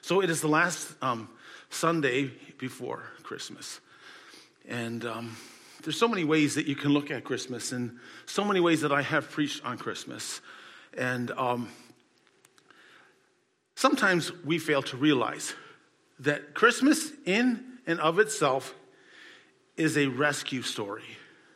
So it is the last Sunday before Christmas. And there's so many ways that you can look at Christmas, and so many ways that I have preached on Christmas. And sometimes we fail to realize that Christmas in and of itself is a rescue story.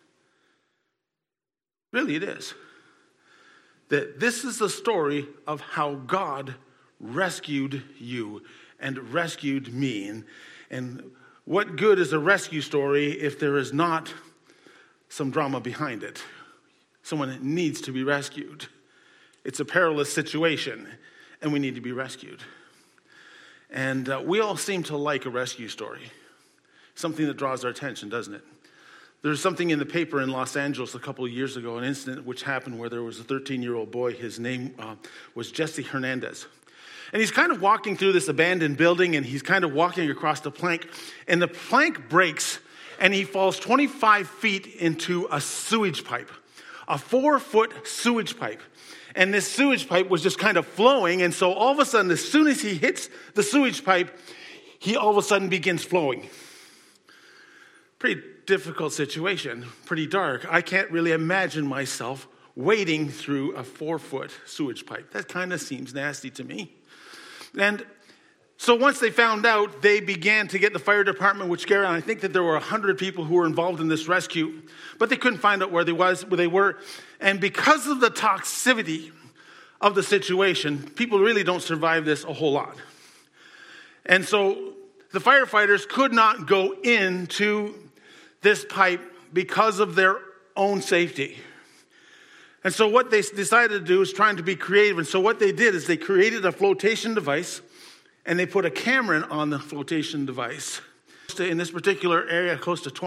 Really, it is. That this is the story of how God rescued you and rescued me. And what good is a rescue story if there is not some drama behind it? Someone needs to be rescued. It's a perilous situation, and we need to be rescued. And we all seem to like a rescue story. Something that draws our attention, doesn't it? There's something in the paper in Los Angeles a couple of years ago, an incident which happened where there was a 13-year-old boy. His name was Jesse Hernandez. And he's kind of walking through this abandoned building, and he's kind of walking across the plank, and the plank breaks, and he falls 25 feet into a sewage pipe, a 4-foot sewage pipe. And this sewage pipe was just kind of flowing, and so all of a sudden, as soon as he hits the sewage pipe, he all of a sudden begins flowing. Pretty difficult situation, pretty dark. I can't really imagine myself wading through a 4-foot sewage pipe. That kind of seems nasty to me. And so once they found out, they began to get the fire department, which Gary, I think that there were 100 people who were involved in this rescue, but they couldn't find out where they were. And because of the toxicity of the situation, people really don't survive this a whole lot. And so the firefighters could not go into this pipe because of their own safety. And so what they decided to do is trying to be creative. And so what they did is they created a flotation device, and they put a camera on the flotation device. In this particular area, close to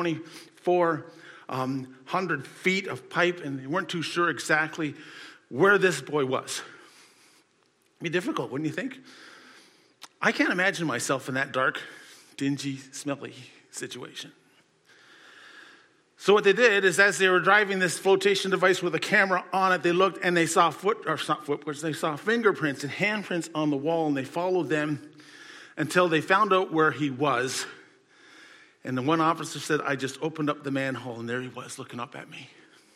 2,400 feet of pipe, and they weren't too sure exactly where this boy was. It'd be difficult, wouldn't you think? I can't imagine myself in that dark, dingy, smelly situation. So what they did is, as they were driving this flotation device with a camera on it, they looked and they saw they saw fingerprints and handprints on the wall, and they followed them until they found out where he was. And the one officer said, I just opened up the manhole, and there he was looking up at me.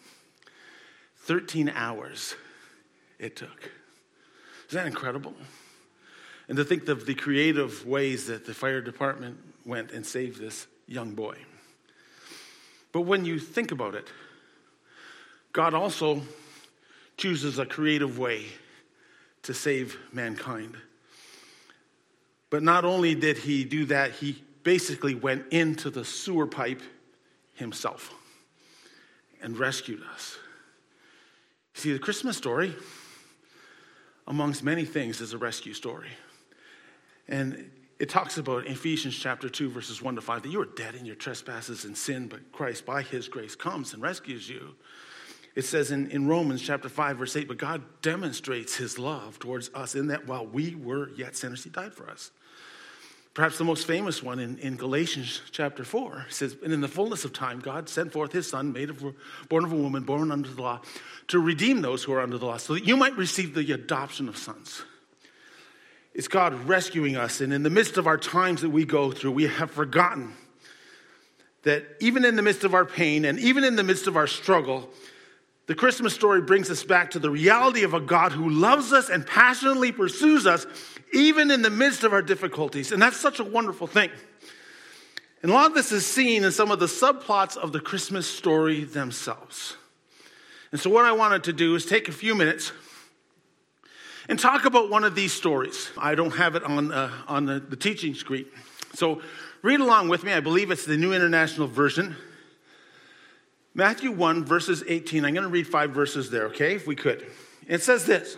13 hours it took. Isn't that incredible? And to think of the creative ways that the fire department went and saved this young boy. But when you think about it, God also chooses a creative way to save mankind. But not only did he do that, he basically went into the sewer pipe himself and rescued us. See, the Christmas story, amongst many things, is a rescue story. And it talks about in Ephesians chapter 2, verses 1-5, that you are dead in your trespasses and sin, but Christ, by his grace, comes and rescues you. It says in Romans chapter 5, verse 8, but God demonstrates his love towards us in that while we were yet sinners, he died for us. Perhaps the most famous one in Galatians chapter 4 says, and in the fullness of time, God sent forth his son, born of a woman, born under the law, to redeem those who are under the law, so that you might receive the adoption of sons. It's God rescuing us, and in the midst of our times that we go through, we have forgotten that even in the midst of our pain and even in the midst of our struggle, the Christmas story brings us back to the reality of a God who loves us and passionately pursues us, even in the midst of our difficulties. And that's such a wonderful thing. And a lot of this is seen in some of the subplots of the Christmas story themselves. And so what I wanted to do is take a few minutes and talk about one of these stories. I don't have it on the teaching screen. So read along with me. I believe it's the New International Version. Matthew 1, verses 18. I'm going to read 5 verses there, okay, if we could. It says this.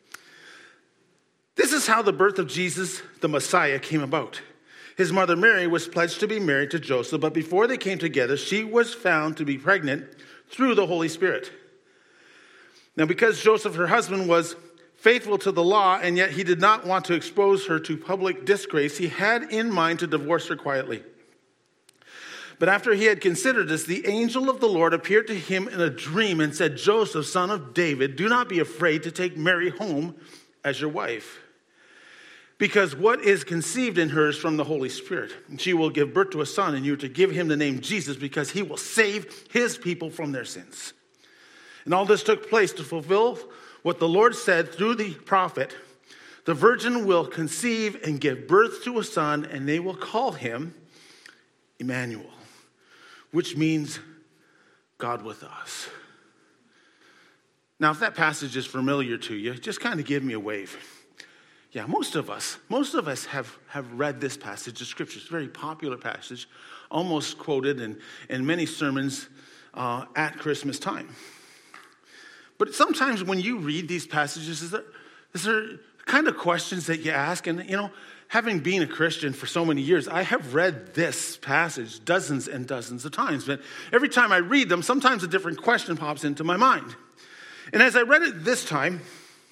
This is how the birth of Jesus, the Messiah, came about. His mother Mary was pledged to be married to Joseph, but before they came together, she was found to be pregnant through the Holy Spirit. Now, because Joseph, her husband, was faithful to the law, and yet he did not want to expose her to public disgrace, he had in mind to divorce her quietly. But after he had considered this, the angel of the Lord appeared to him in a dream and said, Joseph, son of David, do not be afraid to take Mary home as your wife. because what is conceived in her is from the Holy Spirit. And she will give birth to a son, and you are to give him the name Jesus, because he will save his people from their sins. And all this took place to fulfill what the Lord said through the prophet. The virgin will conceive and give birth to a son, and they will call him Emmanuel, which means God with us. Now, if that passage is familiar to you, just kind of give me a wave. Yeah, most of us have read this passage of Scripture. It's a very popular passage, almost quoted in many sermons at Christmas time. But sometimes when you read these passages, is there kind of questions that you ask? And, having been a Christian for so many years, I have read this passage dozens and dozens of times. But every time I read them, sometimes a different question pops into my mind. And as I read it this time,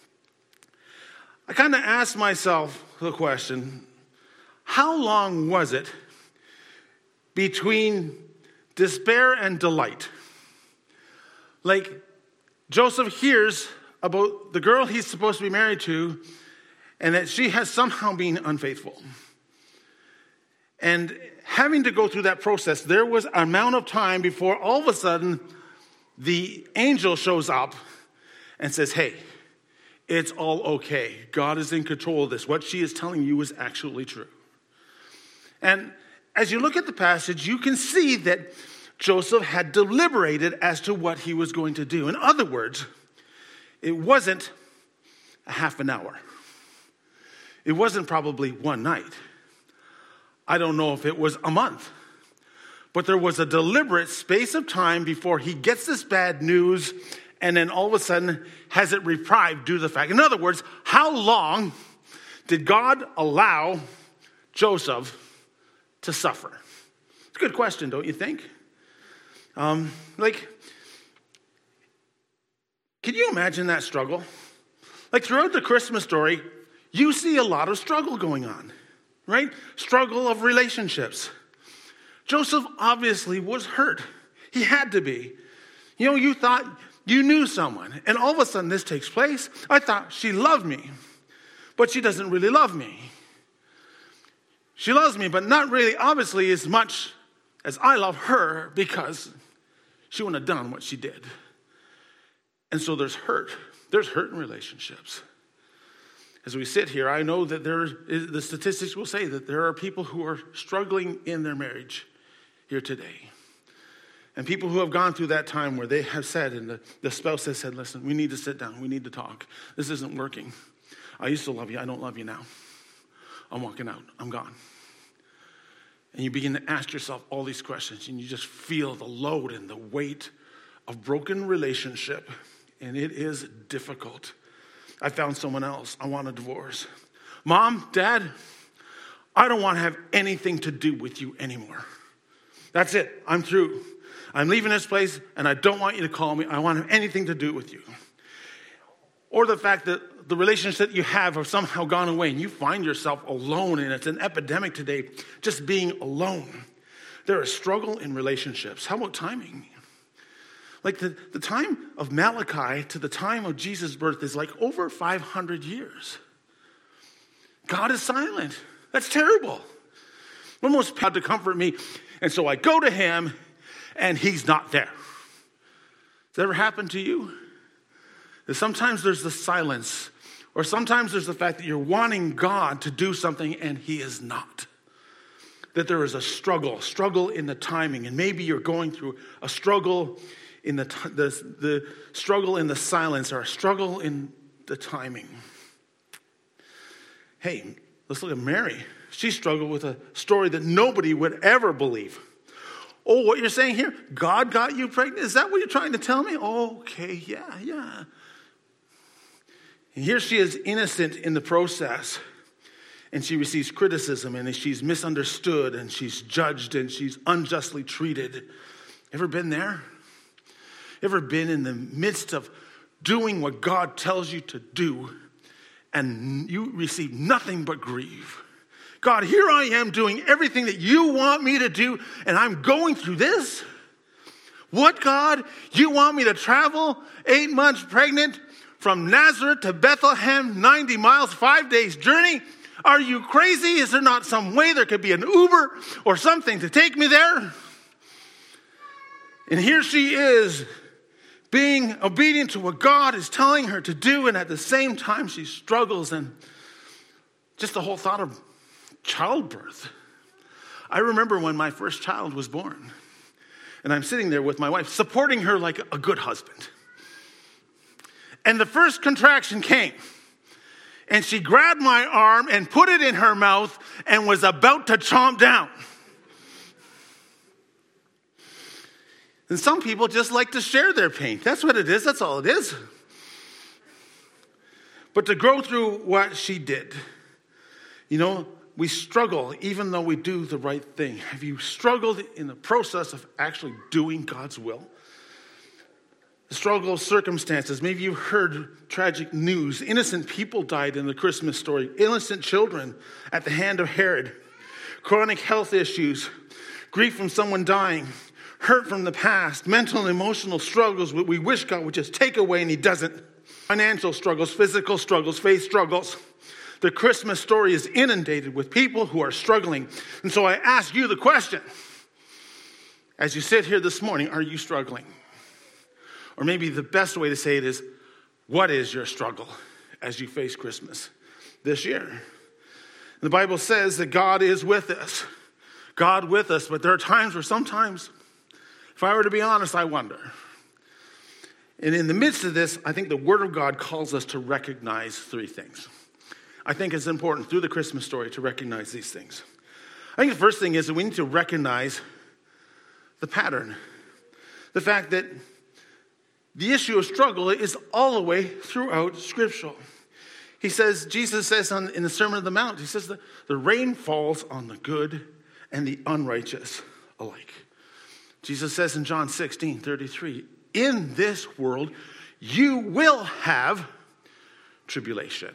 I kind of asked myself the question, how long was it between despair and delight? Like, Joseph hears about the girl he's supposed to be married to, and that she has somehow been unfaithful. And having to go through that process, there was an amount of time before all of a sudden the angel shows up and says, hey, it's all okay. God is in control of this. What she is telling you is actually true. And as you look at the passage, you can see that Joseph had deliberated as to what he was going to do. In other words, it wasn't a half an hour. It wasn't probably one night. I don't know if it was a month. But there was a deliberate space of time before he gets this bad news and then all of a sudden has it reprieved due to the fact. In other words, how long did God allow Joseph to suffer? It's a good question, don't you think? Can you imagine that struggle? Like throughout the Christmas story, you see a lot of struggle going on, right? Struggle of relationships. Joseph obviously was hurt. He had to be. You thought you knew someone, and all of a sudden this takes place. I thought she loved me, but she doesn't really love me. She loves me, but not really, obviously, as much as I love her, because she wouldn't have done what she did. And so there's hurt. There's hurt in relationships. As we sit here, I know that the statistics will say that there are people who are struggling in their marriage here today. And people who have gone through that time where they have said, and the spouse has said, listen, we need to sit down. We need to talk. This isn't working. I used to love you. I don't love you now. I'm walking out. I'm gone. And you begin to ask yourself all these questions, and you just feel the load and the weight of broken relationship. And it is difficult. I found someone else. I want a divorce. Mom, Dad, I don't want to have anything to do with you anymore. That's it. I'm through. I'm leaving this place, and I don't want you to call me. I don't want to have anything to do with you. Or the fact that the relationship that you have somehow gone away, and you find yourself alone, and it's an epidemic today, just being alone. There is struggle in relationships. How about timing? Like the time of Malachi to the time of Jesus' birth is like over 500 years. God is silent. That's terrible. Almost proud to comfort me. And so I go to him, and he's not there. Has that ever happened to you? That sometimes there's the silence, or sometimes there's the fact that you're wanting God to do something, and he is not. That there is a struggle in the timing, and maybe you're going through a struggle in the struggle in the silence, or a struggle in the timing. Hey, let's look at Mary. She struggled with a story that nobody would ever believe. Oh, what you're saying here? God got you pregnant? Is that what you're trying to tell me? Okay, yeah. And here she is innocent in the process. And she receives criticism, and she's misunderstood, and she's judged, and she's unjustly treated. Ever been there? Ever been in the midst of doing what God tells you to do, and you receive nothing but grief? God, here I am doing everything that you want me to do, and I'm going through this? What, God? You want me to travel 8 months pregnant from Nazareth to Bethlehem, 90 miles, 5 days journey? Are you crazy? Is there not some way there could be an Uber or something to take me there? And here she is being obedient to what God is telling her to do, and at the same time she struggles, and just the whole thought of childbirth. I remember when my first child was born, and I'm sitting there with my wife, supporting her like a good husband. And the first contraction came, and she grabbed my arm and put it in her mouth and was about to chomp down. And some people just like to share their pain. That's what it is. That's all it is. But to go through what she did, we struggle even though we do the right thing. Have you struggled in the process of actually doing God's will? The struggle of circumstances. Maybe you've heard tragic news. Innocent people died in the Christmas story. Innocent children at the hand of Herod. Chronic health issues. Grief from someone dying. Hurt from the past, mental and emotional struggles we wish God would just take away, and he doesn't. Financial struggles, physical struggles, faith struggles. The Christmas story is inundated with people who are struggling. And so I ask you the question, as you sit here this morning, are you struggling? Or maybe the best way to say it is, what is your struggle as you face Christmas this year? The Bible says that God is with us. God with us, but there are times where sometimes, if I were to be honest, I wonder. And in the midst of this, I think the Word of God calls us to recognize three things. I think it's important through the Christmas story to recognize these things. I think the first thing is that we need to recognize the pattern. The fact that the issue of struggle is all the way throughout Scripture. Jesus says in the Sermon on the Mount, he says that the rain falls on the good and the unrighteous alike. Jesus says in John 16:33, in this world you will have tribulation.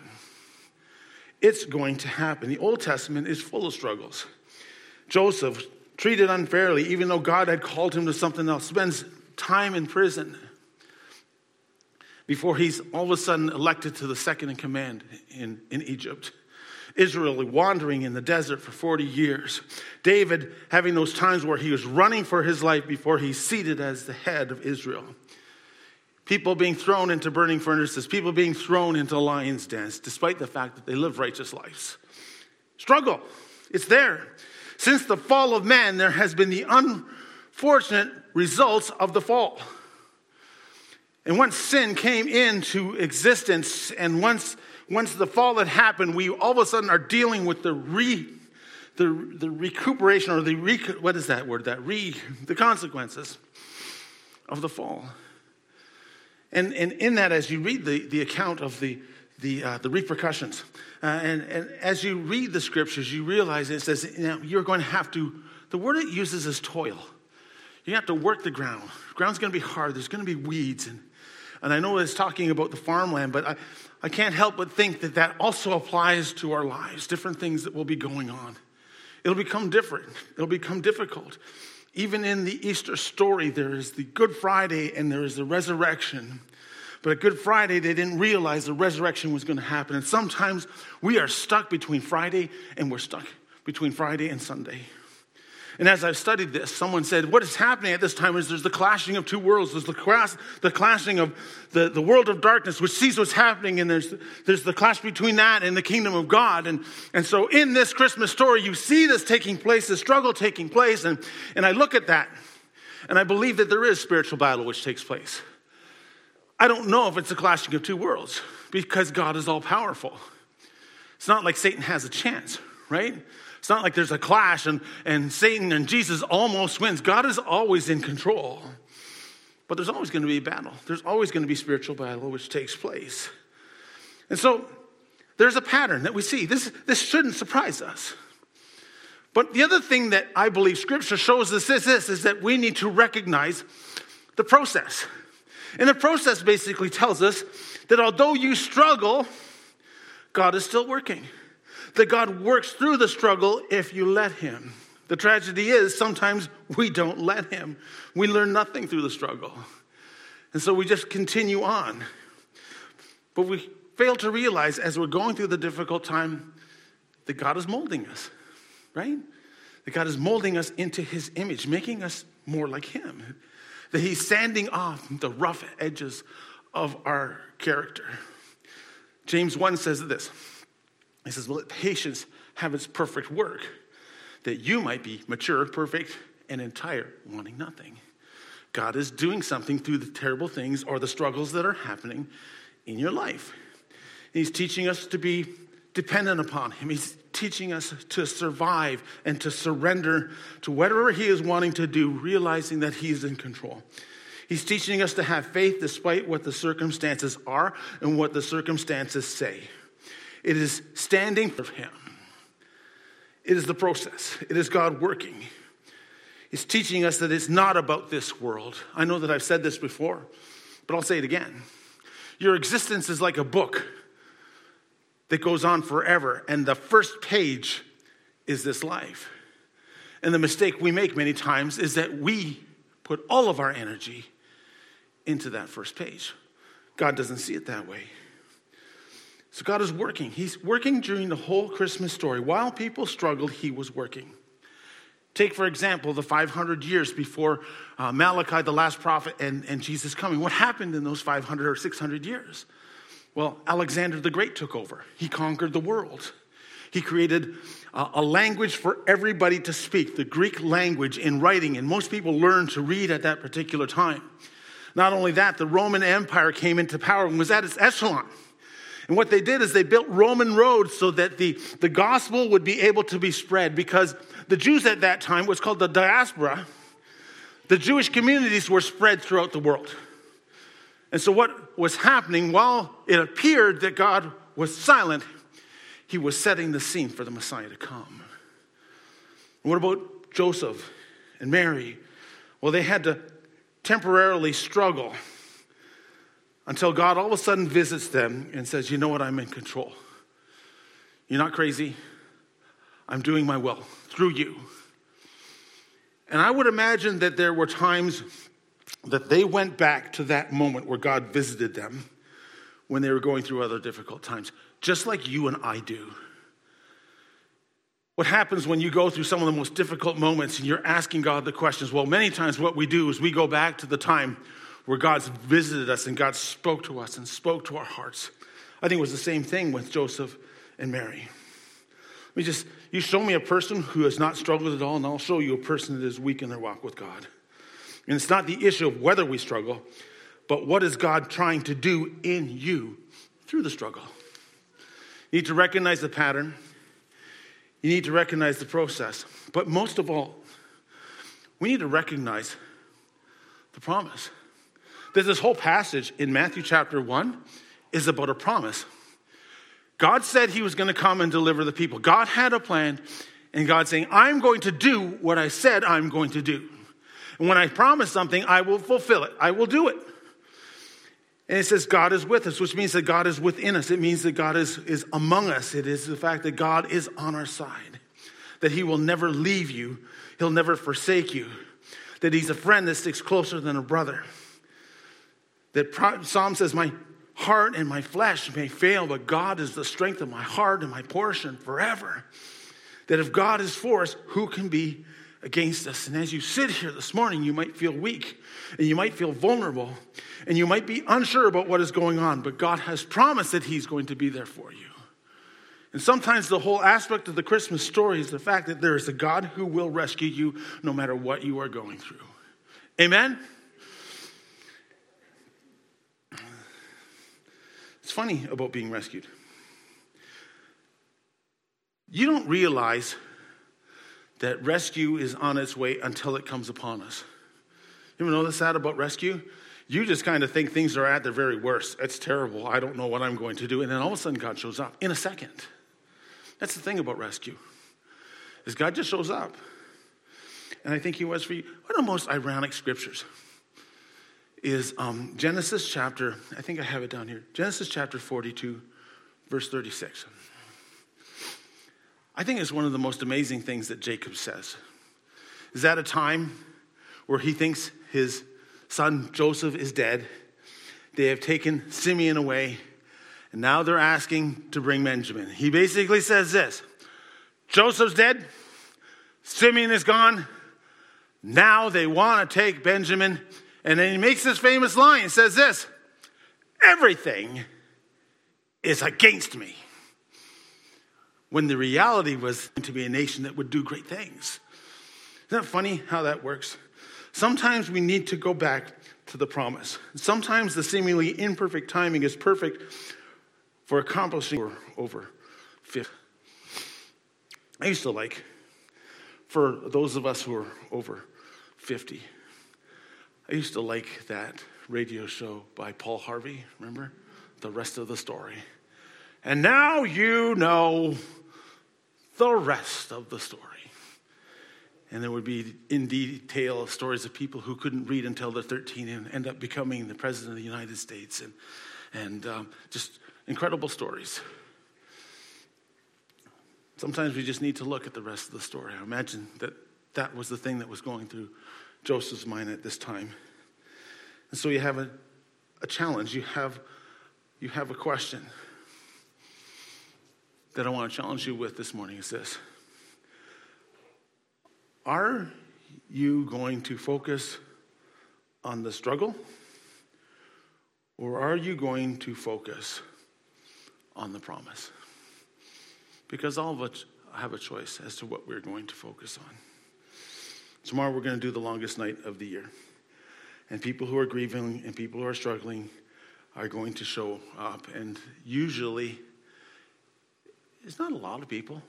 It's going to happen. The Old Testament is full of struggles. Joseph, treated unfairly, even though God had called him to something else, spends time in prison before he's all of a sudden elected to the second in command in Egypt. Israel wandering in the desert for 40 years. David having those times where he was running for his life before he's seated as the head of Israel. People being thrown into burning furnaces. People being thrown into lions' dens, despite the fact that they live righteous lives. Struggle. It's there. Since the fall of man, there has been the unfortunate results of the fall. And once sin came into existence, and once the fall had happened, we all of a sudden are dealing with the recuperation, or the consequences of the fall. And in that, as you read the account of the repercussions, and as you read the scriptures, you realize it says, you're going to have to, the word it uses is toil. You have to work the ground. The ground's going to be hard. There's going to be weeds. And I know it's talking about the farmland, but I can't help but think that also applies to our lives, different things that will be going on. It'll become different. It'll become difficult. Even in the Easter story, there is the Good Friday and there is the resurrection. But at Good Friday, they didn't realize the resurrection was going to happen. And sometimes we are stuck between Friday and Sunday. And as I've studied this, someone said, what is happening at this time is there's the clashing of two worlds. There's the clashing of the world of darkness, which sees what's happening, and there's the clash between that and the kingdom of God. And so in this Christmas story, you see this taking place, this struggle taking place, and I look at that, and I believe that there is spiritual battle which takes place. I don't know if it's the clashing of two worlds, because God is all powerful. It's not like Satan has a chance, right? It's not like there's a clash and Satan and Jesus almost wins. God is always in control. But there's always going to be a battle. There's always going to be spiritual battle which takes place. And so there's a pattern that we see. This shouldn't surprise us. But the other thing that I believe Scripture shows us is that we need to recognize the process. And the process basically tells us that although you struggle, God is still working. That God works through the struggle if you let him. The tragedy is sometimes we don't let him. We learn nothing through the struggle. And so we just continue on. But we fail to realize as we're going through the difficult time, that God is molding us, right? That God is molding us into his image, making us more like him. That he's sanding off the rough edges of our character. James 1 says this. He says, well, let patience have its perfect work, that you might be mature, perfect, and entire, wanting nothing. God is doing something through the terrible things or the struggles that are happening in your life. He's teaching us to be dependent upon him. He's teaching us to survive and to surrender to whatever he is wanting to do, realizing that he is in control. He's teaching us to have faith despite what the circumstances are and what the circumstances say. It is standing for him. It is the process. It is God working. He's teaching us that it's not about this world. I know that I've said this before, but I'll say it again. Your existence is like a book that goes on forever, and the first page is this life. And the mistake we make many times is that we put all of our energy into that first page. God doesn't see it that way. So God is working. He's working during the whole Christmas story. While people struggled, he was working. Take, for example, the 500 years before Malachi, the last prophet, and Jesus coming. What happened in those 500 or 600 years? Well, Alexander the Great took over. He conquered the world. He created a language for everybody to speak, the Greek language in writing, and most people learned to read at that particular time. Not only that, the Roman Empire came into power and was at its echelon. And what they did is they built Roman roads so that the gospel would be able to be spread, because the Jews at that time, what's called the diaspora, the Jewish communities were spread throughout the world. And so what was happening, while it appeared that God was silent, he was setting the scene for the Messiah to come. And what about Joseph and Mary? Well, they had to temporarily struggle until God all of a sudden visits them and says, you know what, I'm in control. You're not crazy. I'm doing my will through you. And I would imagine that there were times that they went back to that moment where God visited them when they were going through other difficult times, just like you and I do. What happens when you go through some of the most difficult moments and you're asking God the questions? Well, many times what we do is we go back to the time where God's visited us and God spoke to us and spoke to our hearts. I think it was the same thing with Joseph and Mary. You show me a person who has not struggled at all, and I'll show you a person that is weak in their walk with God. And it's not the issue of whether we struggle, but what is God trying to do in you through the struggle. You need to recognize the pattern. You need to recognize the process. But most of all, we need to recognize the promise. That this whole passage in Matthew chapter 1 is about a promise. God said he was going to come and deliver the people. God had a plan, and God's saying, I'm going to do what I said I'm going to do. And when I promise something, I will fulfill it. I will do it. And it says God is with us, which means that God is within us. It means that God is among us. It is the fact that God is on our side. That he will never leave you. He'll never forsake you. That he's a friend that sticks closer than a brother. That Psalm says, my heart and my flesh may fail, but God is the strength of my heart and my portion forever. That if God is for us, who can be against us? And as you sit here this morning, you might feel weak and you might feel vulnerable and you might be unsure about what is going on, but God has promised that he's going to be there for you. And sometimes the whole aspect of the Christmas story is the fact that there is a God who will rescue you no matter what you are going through. Amen? It's funny about being rescued. You don't realize that rescue is on its way until it comes upon us. You ever notice that about rescue? You just kind of think things are at their very worst. It's terrible. I don't know what I'm going to do. And then all of a sudden God shows up in a second. That's the thing about rescue, is God just shows up. And I think he was for you. One of the most ironic scriptures is Genesis chapter, I think I have it down here. Genesis chapter 42, verse 36. I think it's one of the most amazing things that Jacob says. Is at a time where he thinks his son Joseph is dead. They have taken Simeon away, and now they're asking to bring Benjamin. He basically says this, Joseph's dead. Simeon is gone. Now they want to take Benjamin. And then he makes this famous line. He says this, everything is against me. When the reality was to be a nation that would do great things. Isn't that funny how that works? Sometimes we need to go back to the promise. Sometimes the seemingly imperfect timing is perfect for accomplishing over 50. I used to like, for those of us who are over 50, I used to like that radio show by Paul Harvey, remember? The rest of the story. And now you know the rest of the story. And there would be in detail stories of people who couldn't read until they're 13 and end up becoming the president of the United States. And just incredible stories. Sometimes we just need to look at the rest of the story. I imagine that was the thing that was going through Joseph's mind at this time. And so you have a challenge. You have a question that I want to challenge you with this morning. Is this: are you going to focus on the struggle, or are you going to focus on the promise? Because all of us have a choice as to what we're going to focus on. Tomorrow we're going to do the longest night of the year. And people who are grieving and people who are struggling are going to show up. And usually, it's not a lot of people.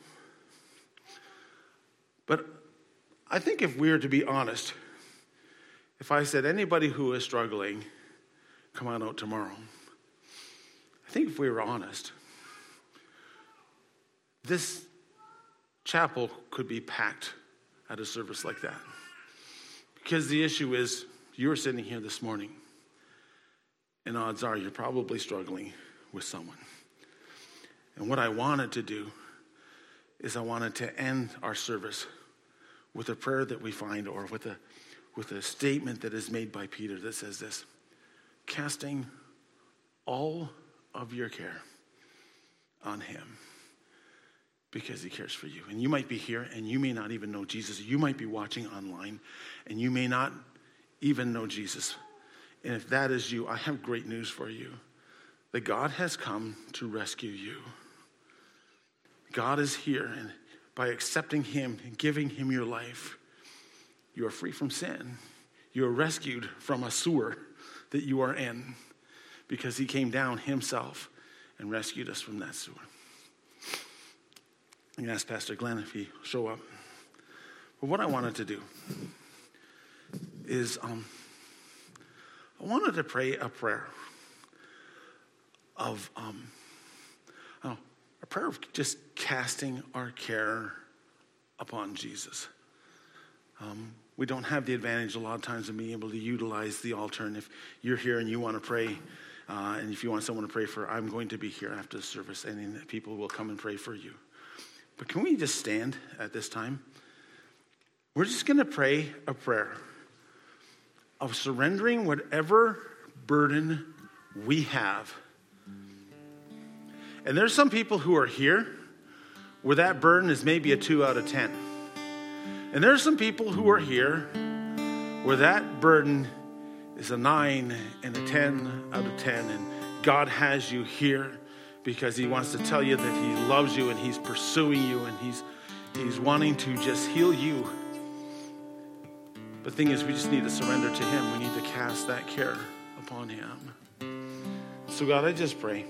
But I think if we were to be honest, if I said anybody who is struggling, come on out tomorrow. I think if we were honest, this chapel could be packed at a service like that. Because the issue is, you're sitting here this morning, and odds are you're probably struggling with someone. And what I wanted to do is I wanted to end our service with a prayer that we find, or with a statement that is made by Peter that says this: casting all of your care on him, because he cares for you. And you might be here and you may not even know Jesus. You might be watching online and you may not even know Jesus. And if that is you, I have great news for you. That God has come to rescue you. God is here, and by accepting him and giving him your life, you are free from sin. You are rescued from a sewer that you are in, because he came down himself and rescued us from that sewer. I'm going to ask Pastor Glenn if he'll show up. But what I wanted to do is I wanted to pray a prayer of a prayer of just casting our care upon Jesus. We don't have the advantage a lot of times of being able to utilize the altar. And if you're here and you want to pray, and if you want someone to pray for, I'm going to be here after the service, and people will come and pray for you. But can we just stand at this time? We're just going to pray a prayer of surrendering whatever burden we have. And there's some people who are here where that burden is maybe a 2 out of 10. And there's some people who are here where that burden is a 9 and a 10 out of 10. And God has you here because he wants to tell you that he loves you and he's pursuing you and he's wanting to just heal you. The thing is, we just need to surrender to him. We need to cast that care upon him. So God, I just pray.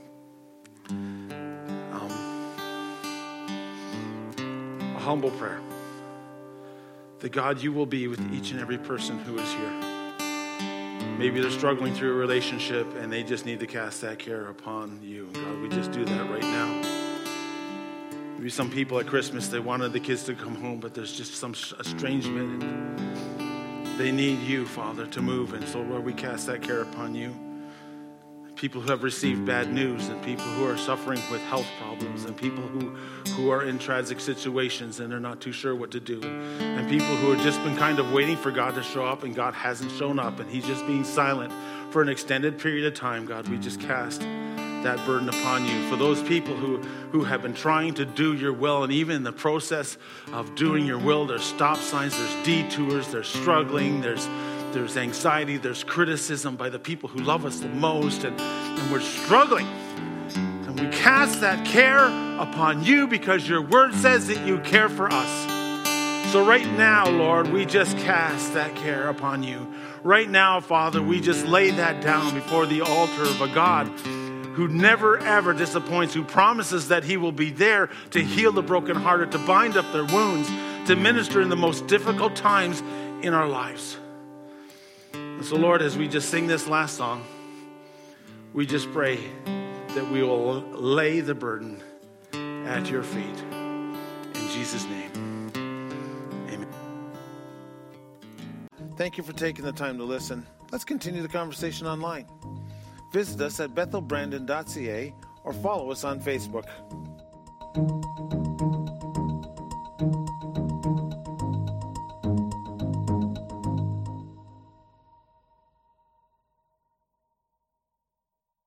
A humble prayer. That God, you will be with each and every person who is here. Maybe they're struggling through a relationship and they just need to cast that care upon you. God, we just do that right now. Maybe some people at Christmas, they wanted the kids to come home, but there's just some estrangement and they need you, Father, to move. And so, Lord, we cast that care upon you. People who have received bad news, and people who are suffering with health problems, and people who are in tragic situations and they're not too sure what to do, and people who have just been kind of waiting for God to show up and God hasn't shown up and he's just being silent for an extended period of time. God, we just cast that burden upon you. For those people who have been trying to do your will, and even in the process of doing your will, there's stop signs, there's detours, there's struggling, there's anxiety, there's criticism by the people who love us the most, and we're struggling. And we cast that care upon you because your word says that you care for us. So right now, Lord, we just cast that care upon you. Right now, Father, we just lay that down before the altar of a God who never, ever disappoints, who promises that he will be there to heal the brokenhearted, to bind up their wounds, to minister in the most difficult times in our lives. And so, Lord, as we just sing this last song, we just pray that we will lay the burden at your feet. In Jesus' name, amen. Thank you for taking the time to listen. Let's continue the conversation online. Visit us at bethelbrandon.ca or follow us on Facebook.